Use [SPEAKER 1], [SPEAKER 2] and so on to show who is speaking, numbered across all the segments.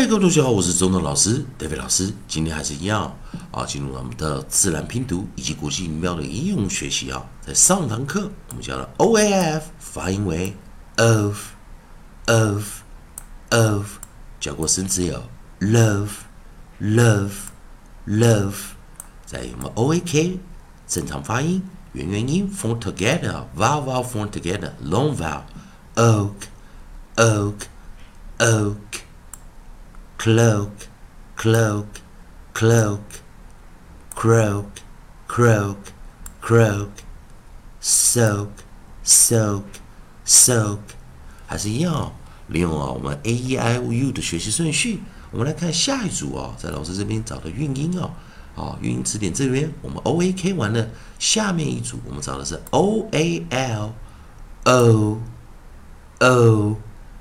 [SPEAKER 1] 嗨，各位同学好，我是中等老师 David 老师。今天还是一样进入我们的自然拼读以及国际音标的应用学习啊。在上堂课我们教了 OAF 发音为 of，教过生词有 love，在我们 OAK 正常发音，元元音 form together，vowel form together，long vowel，cloak，croak，croak，croak，soak，还是一样利用我们 A-E-I-O-U 的学习顺序，我们来看下一组在老师这边找的韵音韵音词典这边我们 OAK 完了，下面一组我们找的是 OAL，O，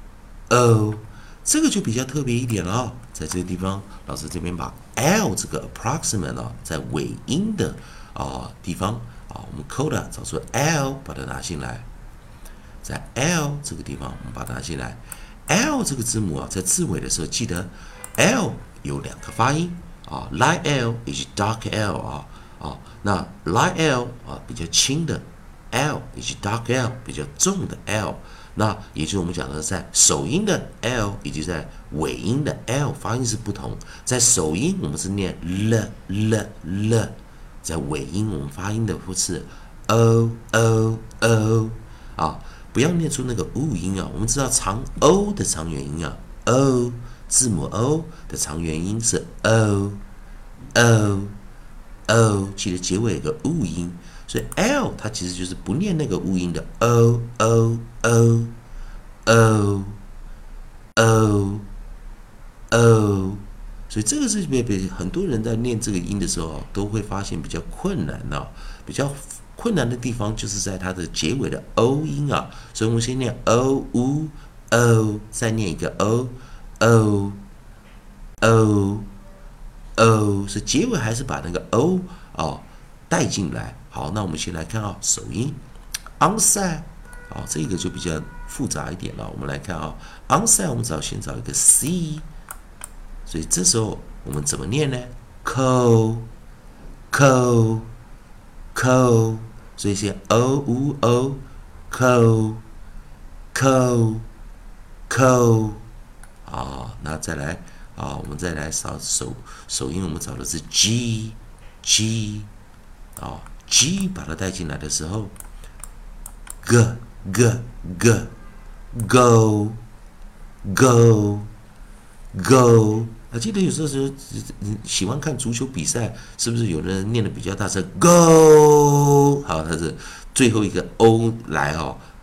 [SPEAKER 1] 这个就比较特别一点了在这个地方，老师这边把 L 这个 approximate 在尾音的地方我们 coda 找出 L， 把它拿进来，在 L 这个地方我们把它拿进来。L 这个字母在字尾的时候，记得 L 有两个发音light L 以及 dark L 那 light L 比较轻的 L 以及 dark L 比较重的 L。那也就是我们讲的，在首音的 L 以及在尾音的 L 发音是不同。在首音我们是念 l， 在尾音我们发音的是 o， 不要念出那个 u 音我们知道长 O 的长元音O 字母 O 的长元音是 O， 记得结尾有个 u 音。所以 L 它其实就是不念那个乌音的 o， 所以这个是很多人在念这个音的时候都会发现比较困难比较困难的地方就是在它的结尾的 o 音所以我们先念 o u o， 再念一个 o， 所以结尾还是把那个 o 带进来。好，那我们先来看首音 onside 这个就比较复杂一点了。我们来看onside 我们先找一个 c， 所以这时候我们怎么念呢 co， 所以先 o u o co， 那再来我们再来找首音，我们找的是 g， G 把它带进来的时候 go， 记得有时候喜欢看足球比赛，是不是有人念的比较大声 go？ 好，它是最后一个 o 来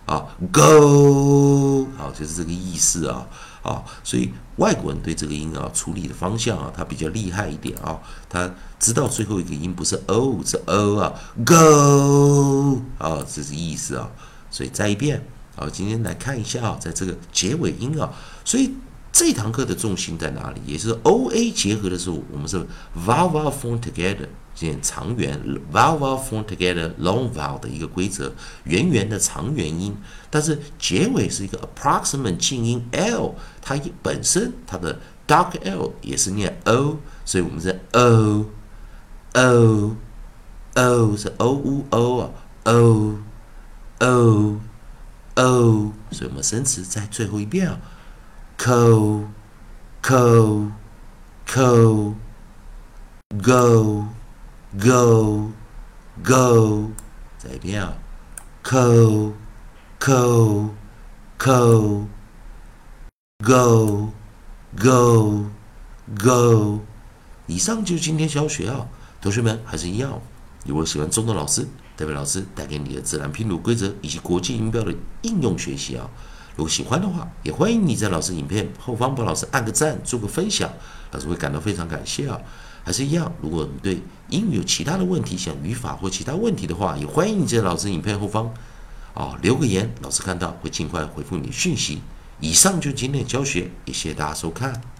[SPEAKER 1] go， 好，就是这个意思所以外国人对这个音处理的方向他比较厉害一点他知道最后一个音不是 o 是 o go 这是意思所以再一遍今天来看一下在这个结尾音所以这堂课的重心在哪里？也是 OA 结合的时候，我们是 vowel form together， 现长元 vowel form together long vowel 的一个规则，圆圆的长元音，但是结尾是一个 approximate 静音 L， 它本身它的 dark L 也是念 O， 所以我们是 O 是 O U O O， 所以我们生词在最后一遍co go再一遍co go。以上就是今天教学同学们还是一样，如果喜欢中等老师代表老师带给你的自然拼读规则以及国际音标的应用学习如果喜欢的话，也欢迎你在老师影片后方帮老师按个赞，做个分享，老师会感到非常感谢还是一样，如果你对英语有其他的问题，像语法或其他问题的话，也欢迎你在老师影片后方留个言，老师看到会尽快回复你讯息。以上就是今天的教学，也谢谢大家收看。